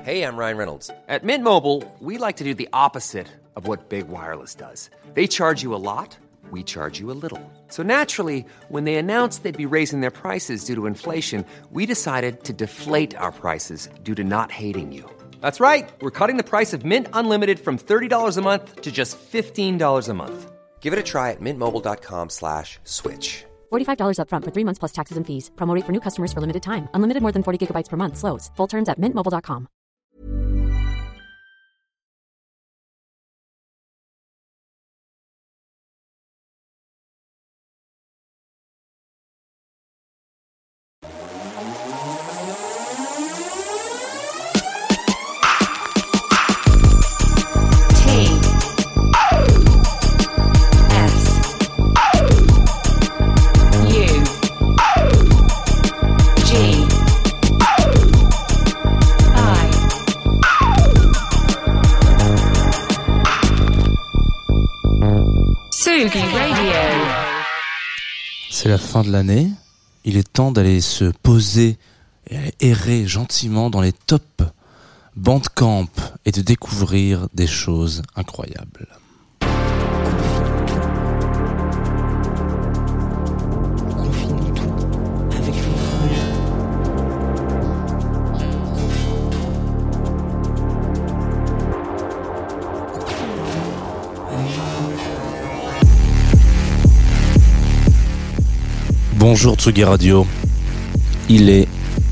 Hey, I'm Ryan Reynolds. At Mint Mobile, we like to do the opposite of what Big Wireless does. They charge you a lot, we charge you a little. So naturally, when they announced they'd be raising their prices due to inflation, we decided to deflate our prices due to not hating you. That's right. We're cutting the price of Mint Unlimited from $30 a month to just $15 a month. Give it a try at mintmobile.com/switch. $45 up front for 3 months plus taxes and fees. Promo rate for new customers for limited time. Unlimited more than 40 gigabytes per month. Slows full terms at mintmobile.com. C'est la fin de l'année, il est temps d'aller se poser et aller errer gentiment dans les tops Bandcamp et de découvrir des choses incroyables. Confinons tout avec Fouille. Bonjour Tsugi Radio, il est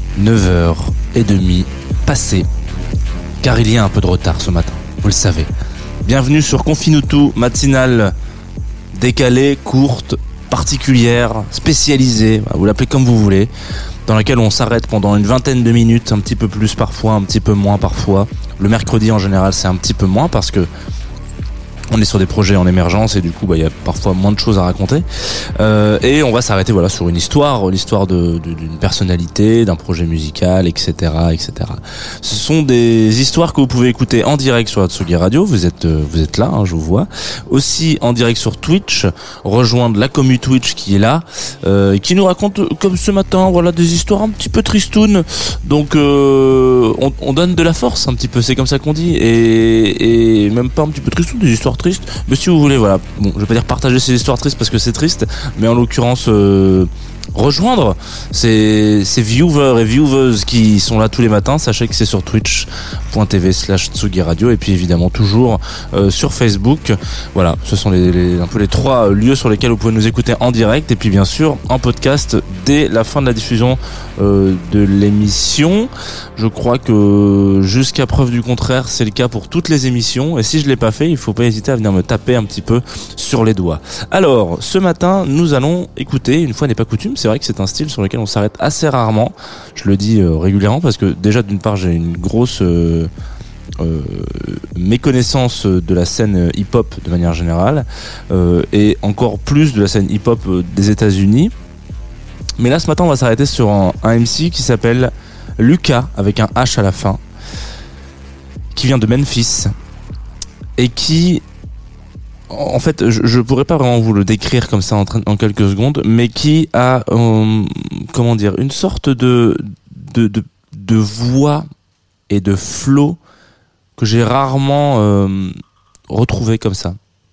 9h30 passé, car il y a un peu de retard ce matin, vous le savez. Bienvenue sur Confine tout, matinale décalée, courte, particulière, spécialisée, vous l'appelez comme vous voulez, dans laquelle on s'arrête pendant une vingtaine de minutes, un petit peu plus parfois, un petit peu moins parfois. Le mercredi en général c'est un petit peu moins parce que on est sur des projets en émergence et du coup il y a parfois moins de choses à raconter et on va s'arrêter sur une histoire, l'histoire d'une personnalité, d'un projet musical, etc. Ce sont des histoires que vous pouvez écouter en direct sur la Tsugi Radio, vous êtes là, je vous vois, aussi en direct sur Twitch, rejoindre la commu Twitch qui est là, qui nous raconte comme ce matin des histoires un petit peu tristounes, donc on donne de la force un petit peu, c'est comme ça qu'on dit, et même pas un petit peu tristounes, des histoires tristes, mais si vous voulez, bon, je vais pas dire partager ces histoires tristes parce que c'est triste, mais en l'occurrence rejoindre ces viewers et viewers qui sont là tous les matins, sachez que c'est sur twitch.tv/Tsugi Radio et puis évidemment toujours sur Facebook. Voilà, ce sont un peu les trois lieux sur lesquels vous pouvez nous écouter en direct et puis bien sûr en podcast dès la fin de la diffusion de l'émission. Je crois que jusqu'à preuve du contraire, c'est le cas pour toutes les émissions et si je l'ai pas fait, il faut pas hésiter à venir me taper un petit peu sur les doigts. Alors, ce matin, nous allons écouter, une fois n'est pas coutume, c'est vrai que c'est un style sur lequel on s'arrête assez rarement. Je le dis régulièrement parce que déjà d'une part j'ai une grosse méconnaissance de la scène hip-hop de manière générale et encore plus de la scène hip-hop des États-Unis. Mais là ce matin on va s'arrêter sur un MC qui s'appelle Lucas avec un H à la fin, qui vient de Memphis et qui, en fait, je pourrais pas vraiment vous le décrire comme ça en quelques secondes, mais qui a, une sorte de voix et de flow que j'ai rarement retrouvé comme ça.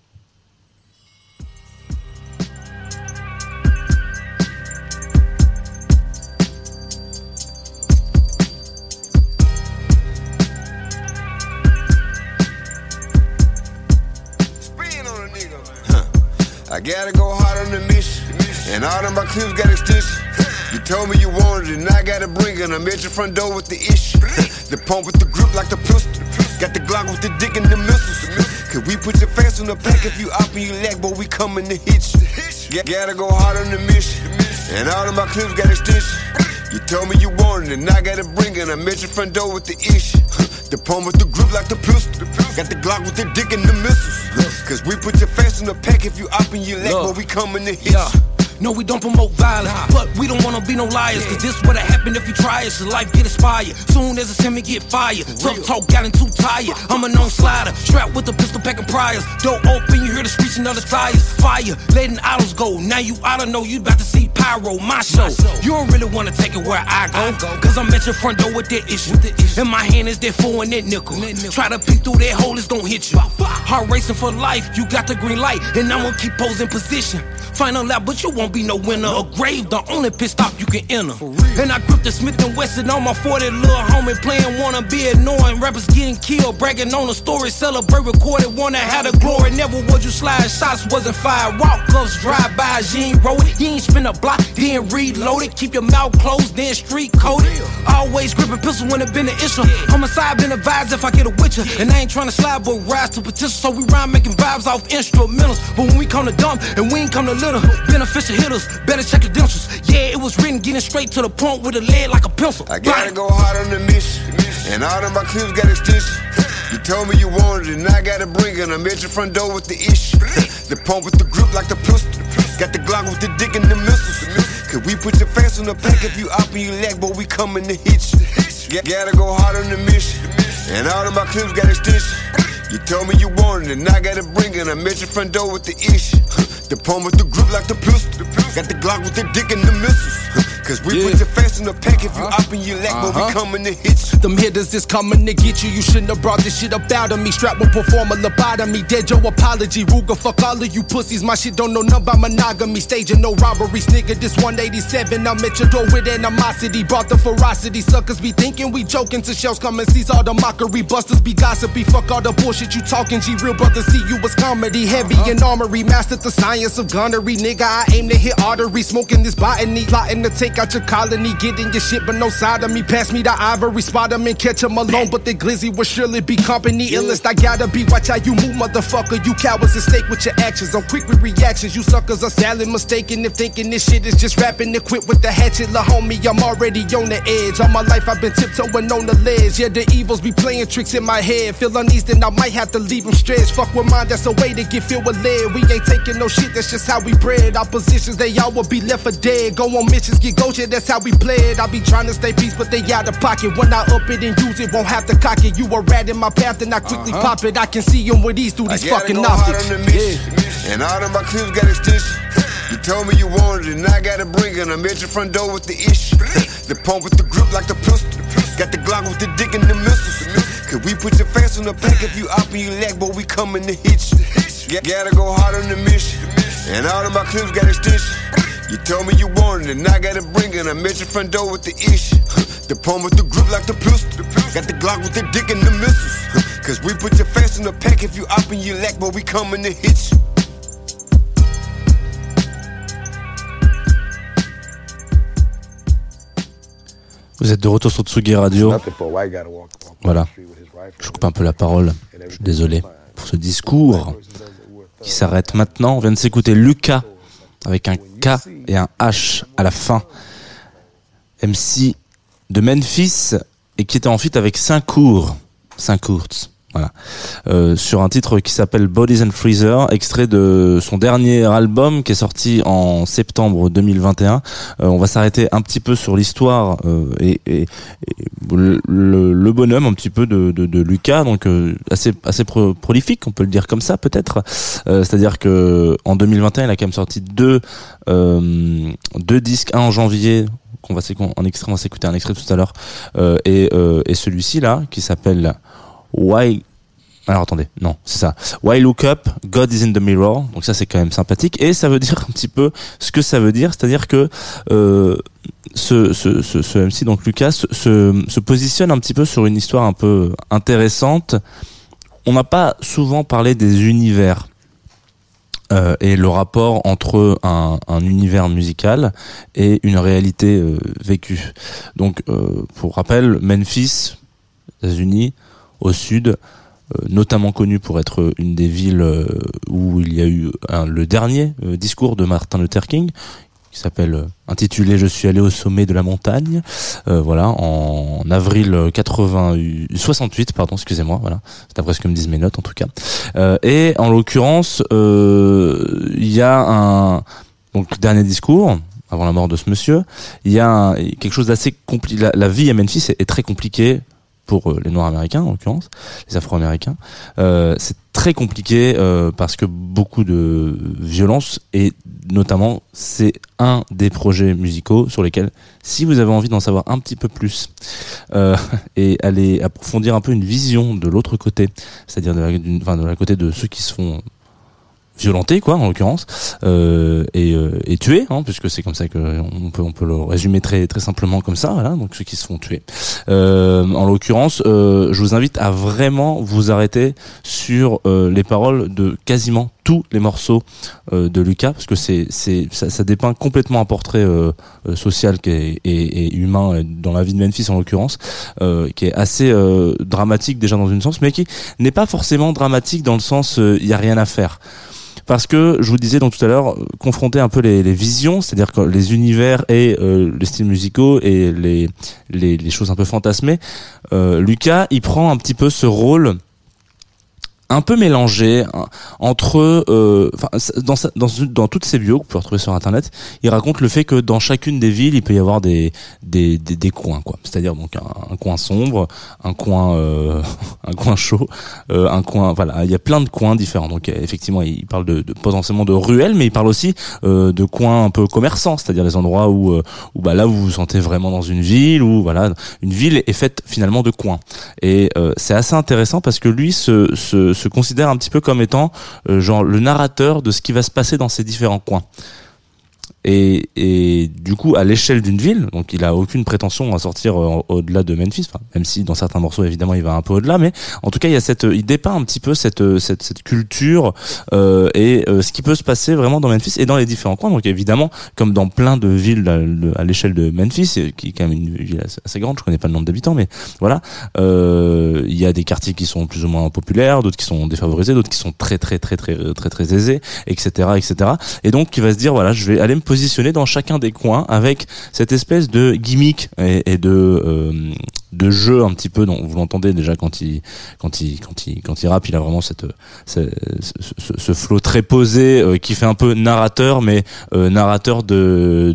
I gotta go hard on the mission, and all of my clips got extension. You told me you wanted it, and I gotta bring it. I'm at your front door with the issue. The pump with the grip like the pistol. Got the Glock with the dick and the missiles. Cause we put your face on the pack if you up and you lack, boy, we coming to hit you. Gotta go hard on the mission, and all of my clips got extension. You told me you wanted it, and I gotta bring it. I'm at your front door with the issue. The pump with the grip like the pistol. Got the Glock with the dick and the missiles. Cause we put your face on the pack if you up and you lack, boy, we coming to hit you. No, we don't promote violence, but we don't wanna be no liars. Cause this what'll happen if you try it. Your life get expired. Soon as a semi get fired. Tough talk got too tired. I'm a known slider, strapped with a pistol packing priors. Door open, you hear the screeching of the tires. Fire, letting idols go. Now you oughta know you about to see pyro, my show. You don't really wanna take it where I go. Cause I'm at your front door with that issue. In my hand is that 4 and that nickel. Try to peek through that hole, it's gon' hit you. Heart racing for life, you got the green light. And I'm gonna keep posing position. Final lap, but you won't be no winner. A grave, the only pit stop you can enter. And I grip the Smith & Wesson on my 40 little homie playing, wanna be annoying. Rappers getting killed, bragging on the story, celebrate, recorded, wanna have the glory. Never would you slide, shots wasn't fired. Walk-ups, drive-bys, you ain't roll it. You ain't spin a block, then reload it. Keep your mouth closed, then street coded. Always gripping pistol when it been an issue. Homicide been advised if I get a witcher. And I ain't trying to slide, but rise to potential. So we rhyme making vibes off instrumentals. But when we come to dump, and we ain't come to litter, beneficial hitters, better check credentials. Yeah, it was written, getting straight to the point with a lead like a pencil. I gotta go hard on the mission, and all of my clips got extension. You told me you wanted it, and I gotta bring it. I'm at your front door with the issue. The pump with the grip like the pistol. Got the Glock with the dick and the missiles. Cause we put your face on the pack if you up and you lack, but we coming to hit you. Gotta go hard on the mission, and all of my clips got extension. You told me you wanted it, and I gotta bring it. I'm at your front door with the issue. The pump with the grip like the pistol. Got the Glock with the dick and the missiles. Cause we put your face in the pack if you up and you lack, but we coming to hit you. Them hitters is coming to get you. You shouldn't have brought this shit up out of me. Strap will perform a lobotomy. Dead your apology. Ruger, fuck all of you pussies. My shit don't know nothing about monogamy. Staging no robberies, nigga. This 187. I'm at your door with animosity. Brought the ferocity. Suckers be thinking we joking. To shells come and seize all the mockery. Busters be gossipy. Fuck all the bullshit you talking. G real brothers see you as comedy. Heavy and armory. Mastered the science of gunnery. Nigga, I aim to hit artery. Smoking this botany. Plotting to take out your colony, getting your shit, but no side of me. Pass me the ivory, spot him and catch him alone. But the glizzy will surely be company. Illest I gotta be. Watch how you move, motherfucker. You cowards at stake with your actions. I'm quick with reactions. You suckers are sadly mistaken if thinking this shit is just rapping. To quit with the hatchet, la homie. I'm already on the edge. All my life I've been tiptoeing on the ledge. Yeah, the evils be playing tricks in my head. Feel uneasy, then I might have to leave them stretched. Fuck with mine, that's a way to get filled with lead. We ain't taking no shit, that's just how we bred. Our positions, they all will be left for dead. Go on missions, get Gojek, that's how we play it. I be trying to stay peace, but they out of pocket. When I up it and use it, won't have to cock it. You a rat in my path, and I quickly pop it. I can see them with these through these fucking optics. And all of my clips got extension. You told me you wanted it, and I gotta bring it. I'm at your front door with the issue. The pump with the grip like the pistol. Got the Glock with the dick and the missiles. Cause we put your face on the pack if you up and you lack, but we coming to hit you. Gotta go hard on the mission, and all of my clips got extension. You told me you wanted it, and I gotta bring it. I'm at your front door with the issue. The pump with the grip like the pistol. Got the Glock with the dick and the missiles. Cause we put your face on the pack if you up and you lack, but we coming to hit you. Vous êtes de retour sur Tsugi Radio. Voilà. Je coupe un peu la parole. Je suis désolé pour ce discours qui s'arrête maintenant. On vient de s'écouter Lucas avec un K et un H à la fin. MC de Memphis et qui était en feat avec Saint-Court. Voilà. Sur un titre qui s'appelle Bodies and Freezer, extrait de son dernier album qui est sorti en septembre 2021. On va s'arrêter un petit peu sur l'histoire et le bonhomme un petit peu de Lucas, donc assez prolifique, on peut le dire comme ça peut-être. C'est-à-dire que en 2021, il a quand même sorti deux disques, un en janvier. On va s'écouter un extrait tout à l'heure, et celui-ci là qui s'appelle Why Look Up, God is in the Mirror. Donc ça c'est quand même sympathique et ça veut dire un petit peu ce que ça veut dire, c'est-à-dire que ce MC donc Lucas se positionne un petit peu sur une histoire un peu intéressante. On n'a pas souvent parlé des univers et le rapport entre un univers musical et une réalité vécue. Donc pour rappel, Memphis, États-Unis, au sud, notamment connu pour être une des villes où il y a eu le dernier discours de Martin Luther King, qui s'appelle intitulé Je suis allé au sommet de la montagne, voilà, en avril 68, pardon, excusez-moi, voilà, c'est après ce que me disent mes notes en tout cas. Et en l'occurrence, il y a donc dernier discours avant la mort de ce monsieur, il y a quelque chose d'assez compliqué. La vie à Memphis est très compliquée pour les Noirs américains, en l'occurrence, les Afro-américains. C'est très compliqué parce que beaucoup de violence, et notamment c'est un des projets musicaux sur lesquels, si vous avez envie d'en savoir un petit peu plus et aller approfondir un peu une vision de l'autre côté, c'est-à-dire de la côté de ceux qui se font violenté, quoi, en l'occurrence, et tué, hein, puisque c'est comme ça que on peut le résumer très très simplement comme ça, voilà, donc ceux qui se font tuer. En l'occurrence, je vous invite à vraiment vous arrêter sur les paroles de quasiment tous les morceaux de Lucas, parce que ça dépeint complètement un portrait social et humain dans la vie de Memphis en l'occurrence, qui est assez dramatique déjà dans une sens, mais qui n'est pas forcément dramatique dans le sens il y a rien à faire. Parce que, je vous disais donc tout à l'heure, confronter un peu les visions, c'est-à-dire que les univers et les styles musicaux et les choses un peu fantasmées, Lucas, il prend un petit peu ce rôle un peu mélangé entre dans toutes ses bios que vous pouvez retrouver sur internet, il raconte le fait que dans chacune des villes il peut y avoir des coins, quoi, c'est-à-dire donc un coin sombre, un coin chaud, un coin, voilà, il y a plein de coins différents. Donc effectivement il parle de potentiellement de ruelles, mais il parle aussi de coins un peu commerçants, c'est-à-dire les endroits où là vous vous sentez vraiment dans une ville, où voilà, une ville est faite finalement de coins. Et c'est assez intéressant parce que lui se considère un petit peu comme étant genre le narrateur de ce qui va se passer dans ces différents coins. Et du coup, à l'échelle d'une ville, donc il a aucune prétention à sortir au-delà de Memphis, enfin, même si dans certains morceaux évidemment il va un peu au-delà, mais en tout cas il dépeint un petit peu cette culture et ce qui peut se passer vraiment dans Memphis et dans les différents coins. Donc évidemment, comme dans plein de villes à l'échelle de Memphis, qui est quand même une ville assez grande, je connais pas le nombre d'habitants, mais voilà, il y a des quartiers qui sont plus ou moins populaires, d'autres qui sont défavorisés, d'autres qui sont très aisés, etc. Et donc il va se dire voilà, je vais aller me positionner dans chacun des coins avec cette espèce de gimmick et de jeu un petit peu, dont vous l'entendez déjà quand il rappe, il a vraiment ce flow très posé qui fait un peu narrateur, mais narrateur de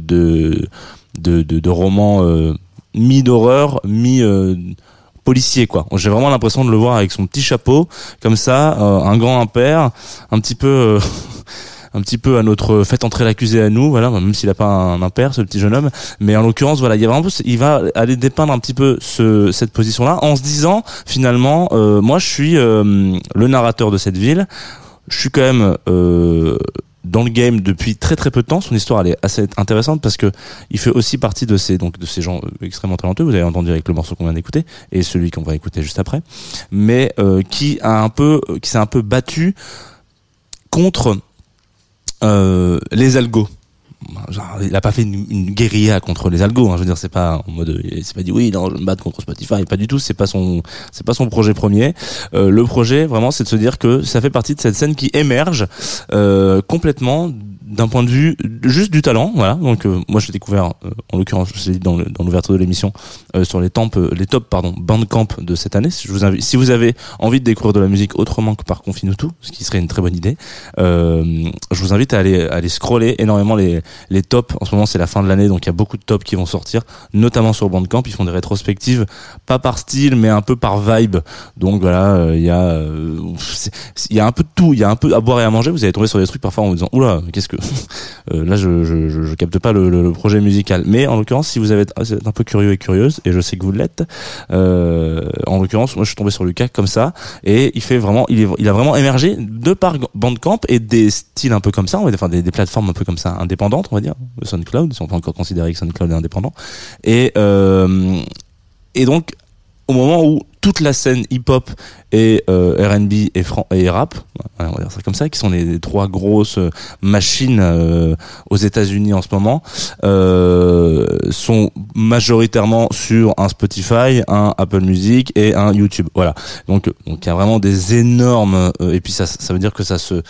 romans mi-d'horreur, policier, quoi. J'ai vraiment l'impression de le voir avec son petit chapeau comme ça, un grand impair, un petit peu à notre faites entrer l'accusé à nous, voilà, même s'il a pas un impair, ce petit jeune homme, mais en l'occurrence, voilà, il va aller dépeindre un petit peu cette position-là, en se disant, finalement, moi, je suis le narrateur de cette ville, je suis quand même dans le game depuis très peu de temps. Son histoire, elle est assez intéressante parce que il fait aussi partie de ces gens extrêmement talentueux. Vous avez entendu avec le morceau qu'on vient d'écouter et celui qu'on va écouter juste après, mais qui s'est un peu battu contre les algos. Genre, il a pas fait une guérilla contre les algos, hein. Je veux dire, c'est pas en mode, il s'est pas dit oui, non, je vais me battre contre Spotify, pas du tout. C'est pas son projet premier. Le projet, vraiment, c'est de se dire que ça fait partie de cette scène qui émerge complètement d'un point de vue juste du talent, voilà. Donc moi je l'ai découvert en l'occurrence, je l'ai dit dans l'ouverture de l'émission, sur les top Bandcamp de cette année. Si vous avez envie de découvrir de la musique autrement que par Confinutu, ce qui serait une très bonne idée, je vous invite à aller scroller énormément les tops. En ce moment c'est la fin de l'année, donc il y a beaucoup de tops qui vont sortir, notamment sur Bandcamp. Ils font des rétrospectives, pas par style mais un peu par vibe. Donc voilà, il y a un peu de tout, il y a un peu à boire et à manger. Vous allez tomber sur des trucs parfois en vous disant oula, qu'est-ce que là je capte pas le projet musical, mais en l'occurrence si vous êtes un peu curieux et curieuse, et je sais que vous l'êtes, en l'occurrence moi je suis tombé sur Lucas comme ça, et il a vraiment émergé de par Bandcamp et des styles un peu comme ça, on va dire, enfin des plateformes un peu comme ça indépendantes, on va dire, SoundCloud, si on peut encore considérer que SoundCloud est indépendant, et donc au moment où toute la scène hip-hop et R&B et rap, on va dire ça comme ça, qui sont les trois grosses machines aux États-Unis en ce moment, sont majoritairement sur un Spotify, un Apple Music et un YouTube. Voilà. Donc il y a vraiment des énormes et puis ça veut dire que ça se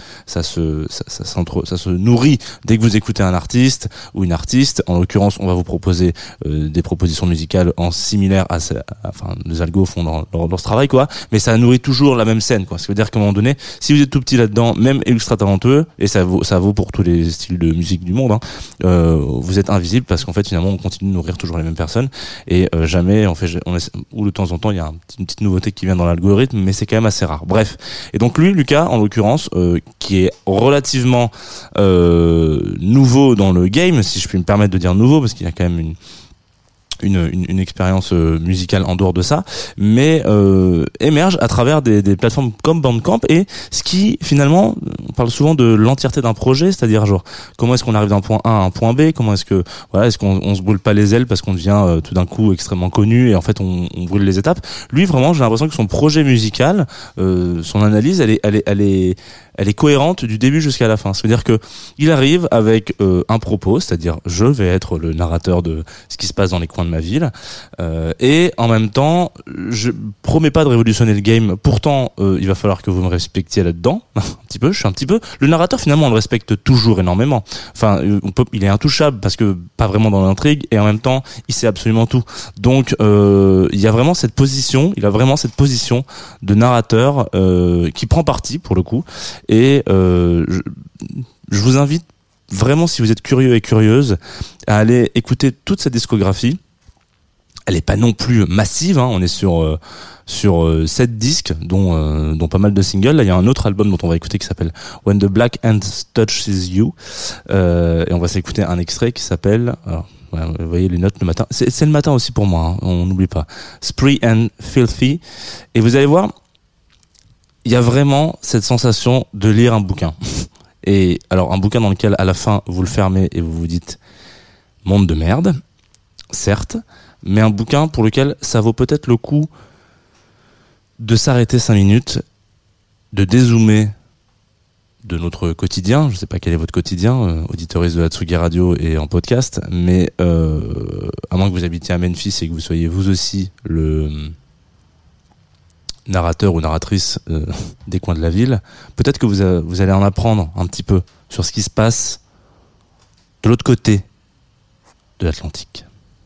nourrit dès que vous écoutez un artiste ou une artiste. En l'occurrence, on va vous proposer des propositions musicales en similaire enfin les algos font dans dans ce travail, quoi. Mais ça nourrit toujours la même scène, quoi. Ce qui veut dire qu'à un moment donné, si vous êtes tout petit là-dedans, même ultra talentueux, et ça vaut pour tous les styles de musique du monde, vous êtes invisible parce qu'en fait, finalement, on continue de nourrir toujours les mêmes personnes et jamais ou de temps en temps, il y a une petite nouveauté qui vient dans l'algorithme, mais c'est quand même assez rare. Bref. Et donc lui, Lucas, en l'occurrence, qui est relativement nouveau dans le game, si je puis me permettre de dire nouveau, parce qu'il y a quand même une expérience musicale en dehors de ça, mais émerge à travers des plateformes comme Bandcamp. Et ce qui finalement, on parle souvent de l'entièreté d'un projet, c'est-à-dire genre comment est-ce qu'on arrive d'un point A à un point B, comment est-ce que est-ce qu'on se brûle pas les ailes parce qu'on devient tout d'un coup extrêmement connu et en fait on brûle les étapes. Lui vraiment, j'ai l'impression que son projet musical, son analyse, elle est cohérente du début jusqu'à la fin. C'est-à-dire que il arrive avec un propos, c'est-à-dire je vais être le narrateur de ce qui se passe dans les coins de ma ville, et en même temps je promets pas de révolutionner le game, pourtant il va falloir que vous me respectiez là-dedans un petit peu. Je suis un petit peu le narrateur, finalement on le respecte toujours énormément, enfin il est intouchable parce que pas vraiment dans l'intrigue, et en même temps il sait absolument tout, donc il a vraiment cette position de narrateur qui prend parti pour le coup. Et je vous invite vraiment, si vous êtes curieux et curieuse, à aller écouter toute cette discographie. Elle est pas non plus massive, hein. On est sur 7 disques, dont pas mal de singles. Là, il y a un autre album dont on va écouter qui s'appelle When the Black Hand Touches You, et on va s'écouter un extrait qui s'appelle, vous voyez les notes le matin, c'est le matin aussi pour moi, hein, on n'oublie pas, Spree and Filthy. Et vous allez voir, il y a vraiment cette sensation de lire un bouquin. Et alors un bouquin dans lequel à la fin vous le fermez et vous vous dites monde de merde, certes, mais un bouquin pour lequel ça vaut peut-être le coup de s'arrêter 5 minutes, de dézoomer de notre quotidien. Je sais pas quel est votre quotidien, auditeuriste de Hatsugi Radio et en podcast, mais à moins que vous habitiez à Memphis et que vous soyez vous aussi le narrateur ou narratrice des coins de la ville, peut-être que vous allez en apprendre un petit peu sur ce qui se passe de l'autre côté de l'Atlantique.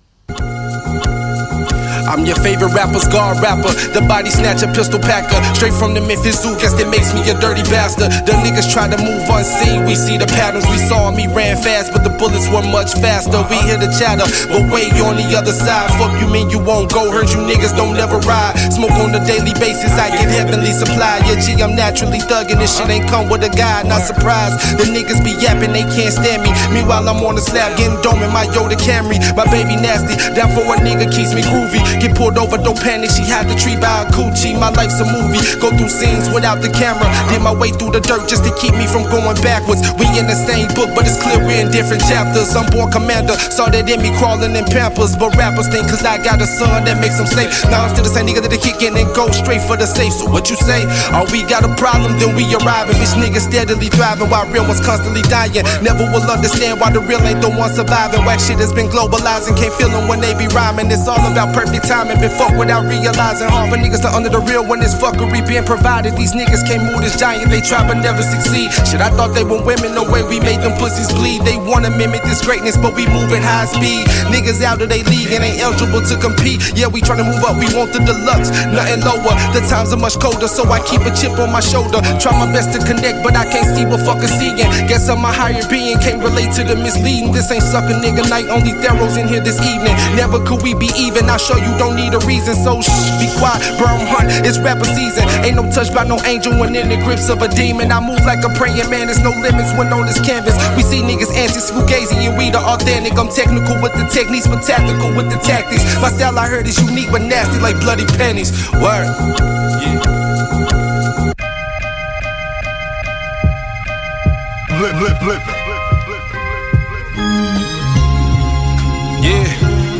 I'm your favorite rapper, scar rapper, the body snatcher, pistol packer, straight from the Memphis Zoo, guess that makes me a dirty bastard. The niggas try to move unseen, we see the patterns, we saw me ran fast, but the bullets were much faster. We hear the chatter, but wait, you on the other side. Fuck you mean you won't go, heard you niggas don't never ride. Smoke on a daily basis, I get heavenly supply. Yeah, G, I'm naturally thugging, this shit ain't come with a guide, not surprised. The niggas be yapping, they can't stand me. Meanwhile, I'm on the slab, getting dome in my Yoda Camry. My baby nasty, down for a nigga, keeps me groovy. Get pulled over, don't panic, she had the tree by a coochie. My life's a movie, go through scenes without the camera. Did my way through the dirt just to keep me from going backwards. We in the same book, but it's clear we're in different chapters. I'm born commander, saw that in me crawling in Pampers. But rappers think cause I got a son that makes them safe. Now I'm still the same nigga that they kick in and go straight for the safe. So what you say? Oh, we got a problem, then we arriving. Bitch niggas steadily thriving while real ones constantly dying. Never will understand why the real ain't the one surviving. Whack shit has been globalizing, can't feel them when they be rhyming. It's all about perfect timing. Been fuck without realizing. Hard for niggas to under the real when this fuckery being provided. These niggas can't move this giant, they try but never succeed. Shit, I thought they were women, no way we made them pussies bleed. They wanna mimic this greatness, but we moving high speed. Niggas out of they league and ain't eligible to compete. Yeah, we tryna move up, we want the deluxe, nothing lower. The times are much colder, so I keep a chip on my shoulder. Try my best to connect, but I can't see what fuckers seeing. Guess I'm a higher being, can't relate to the misleading. This ain't sucker nigga night, only Theros in here this evening. Never could we be even, I'll show you don't need a reason. So shh, be quiet, burn hunt, it's rapper season. Ain't no touch by no angel when in the grips of a demon. I move like a praying man, there's no limits when on this canvas. We see niggas anti-fugazi and we the authentic. I'm technical with the techniques, but tactical with the tactics. My style I heard is unique but nasty like bloody pennies. Word, yeah. Blip. Yeah.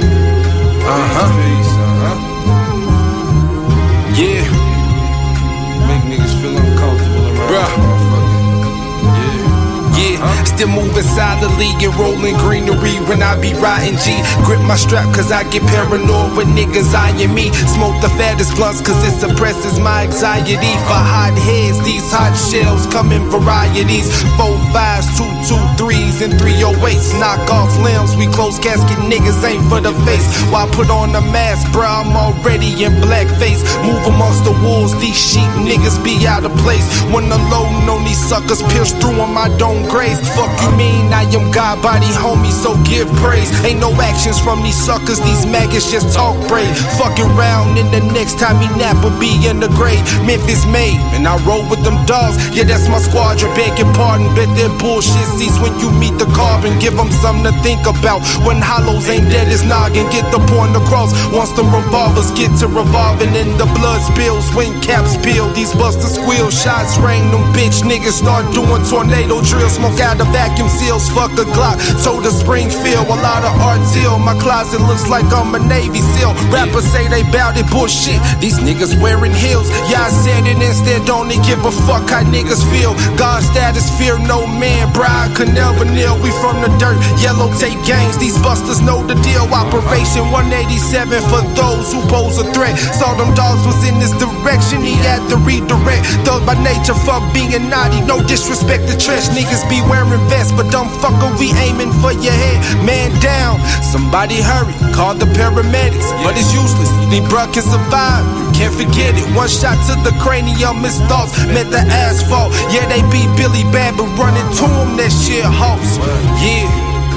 Yeah. Make niggas feel uncomfortable around. Bruh. Yeah. Still to moving silently and rolling greenery when I be riding G. Grip my strap cause I get paranoid with niggas eyeing me. Smoke the fattest blunts cause it suppresses my anxiety. For hot heads, these hot shells come in varieties. 4 5s, 2 2 3s, and 308s. Knock off limbs, we close casket niggas ain't for the face. While I put on the mask, bruh, I'm already in blackface. Move amongst the wolves, these sheep niggas be out of place. When the loading on these suckers pierce through on my dome grace. Fuck you mean, I am God body homie, so give praise. Ain't no actions from these suckers, these maggots just talk brave. Fucking round and the next time he nap will be in the grave. Memphis made, and I roll with them dogs. Yeah, that's my squadron, begging pardon. Bet their bullshit cease when you meet the carbon. Give them something to think about when hollows ain't dead as noggin. Get the point across once the revolvers get to revolving and the blood spills when caps peel. These busters squeal, shots rain, them bitch niggas start doing tornado drills. Smoke out the vacuum seals, fuck a Glock. Told the Springfield, a lot of artil. My closet looks like I'm a Navy SEAL. Rappers say they bout it, bullshit. These niggas wearing heels. Yeah, I said it instead, don't they give a fuck how niggas feel. God status, fear no man. Bride could never kneel. We from the dirt, yellow tape gangs. These busters know the deal. Operation 187 for those who pose a threat. Saw them dogs was in this direction, he had to redirect. Thug by nature, fuck being naughty. No disrespect to trash. Niggas be wearing vests, but dumb fucker, we aiming for your head. Man down, somebody hurry, call the paramedics. But it's useless, you think bruh can survive? You can't forget it. One shot to the cranium, his thoughts met the asphalt. Yeah, they beat Billy Bad, but running to him, that shit halts. Yeah,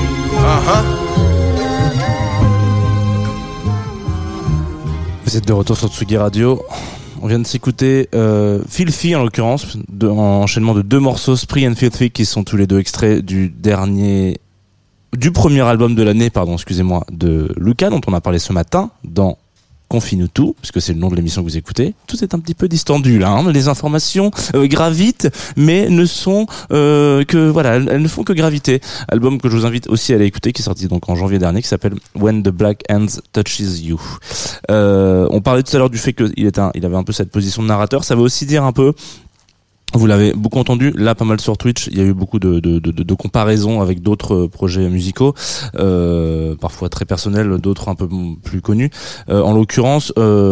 Vous êtes de retour sur Tsugi Radio. On vient de s'écouter Filthy en l'occurrence, en enchaînement de 2 morceaux, Spree and Filthy, qui sont tous les 2 extraits du premier album de l'année, de Lucas, dont on a parlé ce matin dans Confine-nous tout, puisque c'est le nom de l'émission que vous écoutez. Tout est un petit peu distendu là, hein. Les informations gravitent, mais ne sont elles ne font que graviter. Album que je vous invite aussi à aller écouter, qui est sorti donc en janvier dernier, qui s'appelle When the Black Hands Touches You. On parlait tout à l'heure du fait qu'il avait un peu cette position de narrateur. Ça veut aussi dire un peu, vous l'avez beaucoup entendu, là pas mal sur Twitch, il y a eu beaucoup de comparaisons avec d'autres projets musicaux, parfois très personnels, d'autres un peu plus connus. En l'occurrence,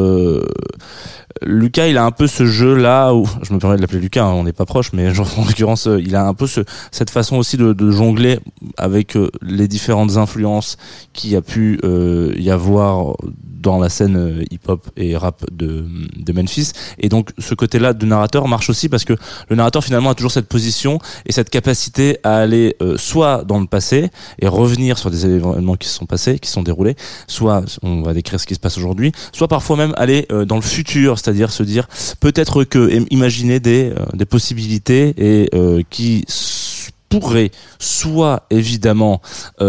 Lucas, il a un peu ce jeu-là où, je me permets de l'appeler Lucas, hein, on n'est pas proche, mais genre, en l'occurrence, il a un peu cette façon aussi de jongler avec les différentes influences qu'il y a pu y avoir dans la scène hip-hop et rap de Memphis. Et donc, ce côté-là de narrateur marche aussi parce que le narrateur, finalement, a toujours cette position et cette capacité à aller soit dans le passé et revenir sur des événements qui se sont passés, qui se sont déroulés, soit on va décrire ce qui se passe aujourd'hui, soit parfois même aller dans le futur, c'est-à-dire se dire peut-être que imaginer des possibilités et qui pourraient soit évidemment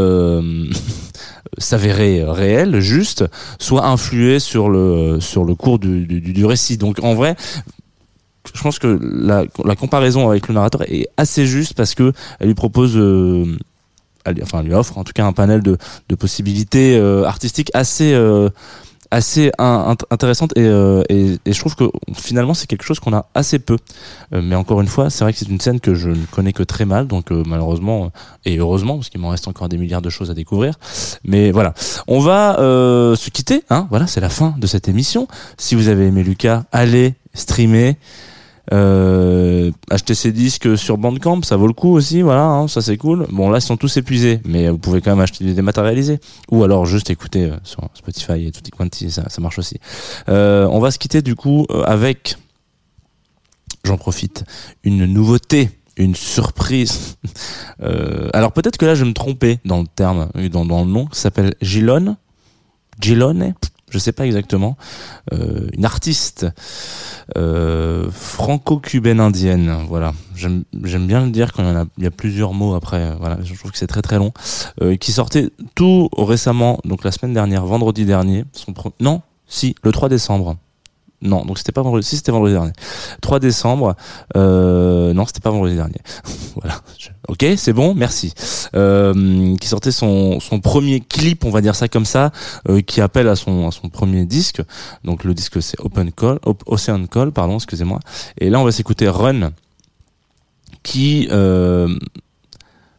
s'avérer réel, juste, soit influer sur le cours du récit. Donc en vrai, je pense que la comparaison avec le narrateur est assez juste parce que elle lui propose elle lui offre en tout cas un panel de possibilités artistiques assez intéressante et je trouve que finalement c'est quelque chose qu'on a assez peu, mais encore une fois c'est vrai que c'est une scène que je ne connais que très mal, donc malheureusement et heureusement parce qu'il m'en reste encore des milliards de choses à découvrir, mais voilà, on va se quitter, hein, voilà, c'est la fin de cette émission. Si vous avez aimé Lucas, allez streamer, acheter ses disques sur Bandcamp, ça vaut le coup aussi, voilà, hein, ça c'est cool. Bon là ils sont tous épuisés, mais vous pouvez quand même acheter des dématérialisés ou alors juste écouter sur Spotify et tutti quanti, ça marche aussi. On va se quitter du coup avec, j'en profite, une nouveauté, une surprise. Alors peut-être que là je vais me tromper dans le terme, dans le nom, ça s'appelle Gilone, je sais pas exactement, une artiste franco-cubaine indienne, voilà, j'aime bien le dire quand il y a plusieurs mots après, voilà, je trouve que c'est très très long, qui sortait tout récemment, donc la semaine dernière, vendredi dernier, le 3 décembre. Non, donc c'était pas vendredi, si c'était vendredi dernier. 3 décembre, non, c'était pas vendredi dernier. Voilà. Ok, c'est bon, merci. Qui sortait son premier clip, on va dire ça comme ça, qui appelle à son premier disque. Donc le disque c'est Ocean Call, pardon, excusez-moi. Et là on va s'écouter Run, qui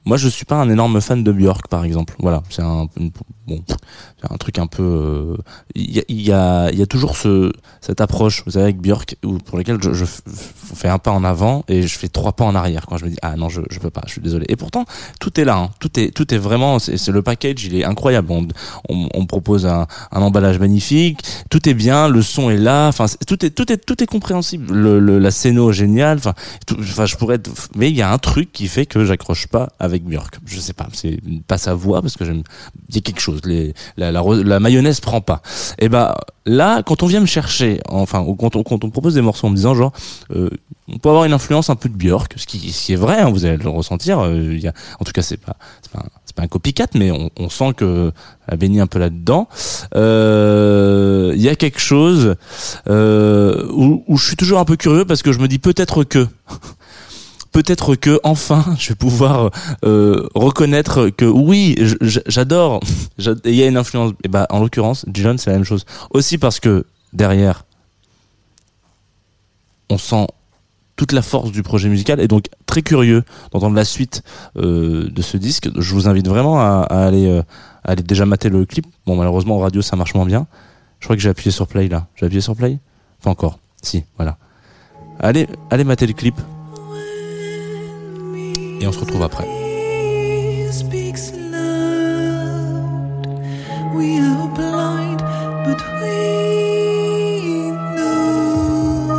Moi, je suis pas un énorme fan de Björk, par exemple. Voilà, c'est un truc un peu. Il y a toujours cette approche, vous savez, avec Björk, pour laquelle je fais un pas en avant et je fais 3 pas en arrière quand je me dis ah non, je peux pas, je suis désolé. Et pourtant, tout est là, hein. Tout est vraiment, c'est le package, il est incroyable. On me propose un emballage magnifique, tout est bien, le son est là, enfin tout est compréhensible. La scéno géniale, enfin je pourrais mais il y a un truc qui fait que j'accroche pas avec Björk. Je sais pas, c'est pas sa voix parce que il y a quelque chose, la mayonnaise prend pas. Et là, quand on vient me chercher, enfin quand on propose des morceaux en me disant genre on peut avoir une influence un peu de Björk, ce qui est vrai, hein, vous allez le ressentir. En tout cas, c'est pas un copycat, mais on sent que elle a baigné un peu là-dedans. Il y a quelque chose où je suis toujours un peu curieux parce que je me dis peut-être que enfin je vais pouvoir reconnaître que oui, j'adore. Il y a une influence. Et en l'occurrence, Gillan, c'est la même chose. Aussi parce que derrière, on sent toute la force du projet musical, et donc très curieux d'entendre la suite de ce disque. Je vous invite vraiment à aller déjà mater le clip. Bon, malheureusement en radio ça marche moins bien. Je crois que j'ai appuyé sur play là. J'ai appuyé sur play ? Pas encore. Si, voilà. Allez mater le clip. Et on se retrouve après. We are blind, but we know.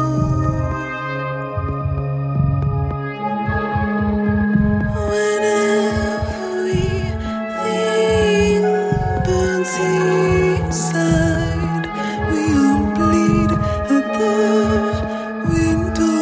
Whenever everything burns inside, we all bleed at the window.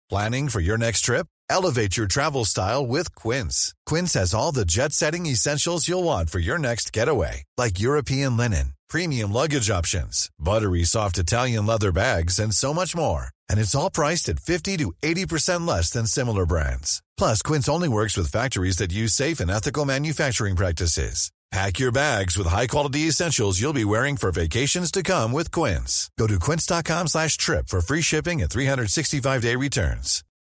Planning for your next trip? Elevate your travel style with Quince. Quince has all the jet-setting essentials you'll want for your next getaway, like European linen, premium luggage options, buttery soft Italian leather bags, and so much more. And it's all priced at 50 to 80% less than similar brands. Plus, Quince only works with factories that use safe and ethical manufacturing practices. Pack your bags with high-quality essentials you'll be wearing for vacations to come with Quince. Go to quince.com/trip for free shipping and 365-day returns.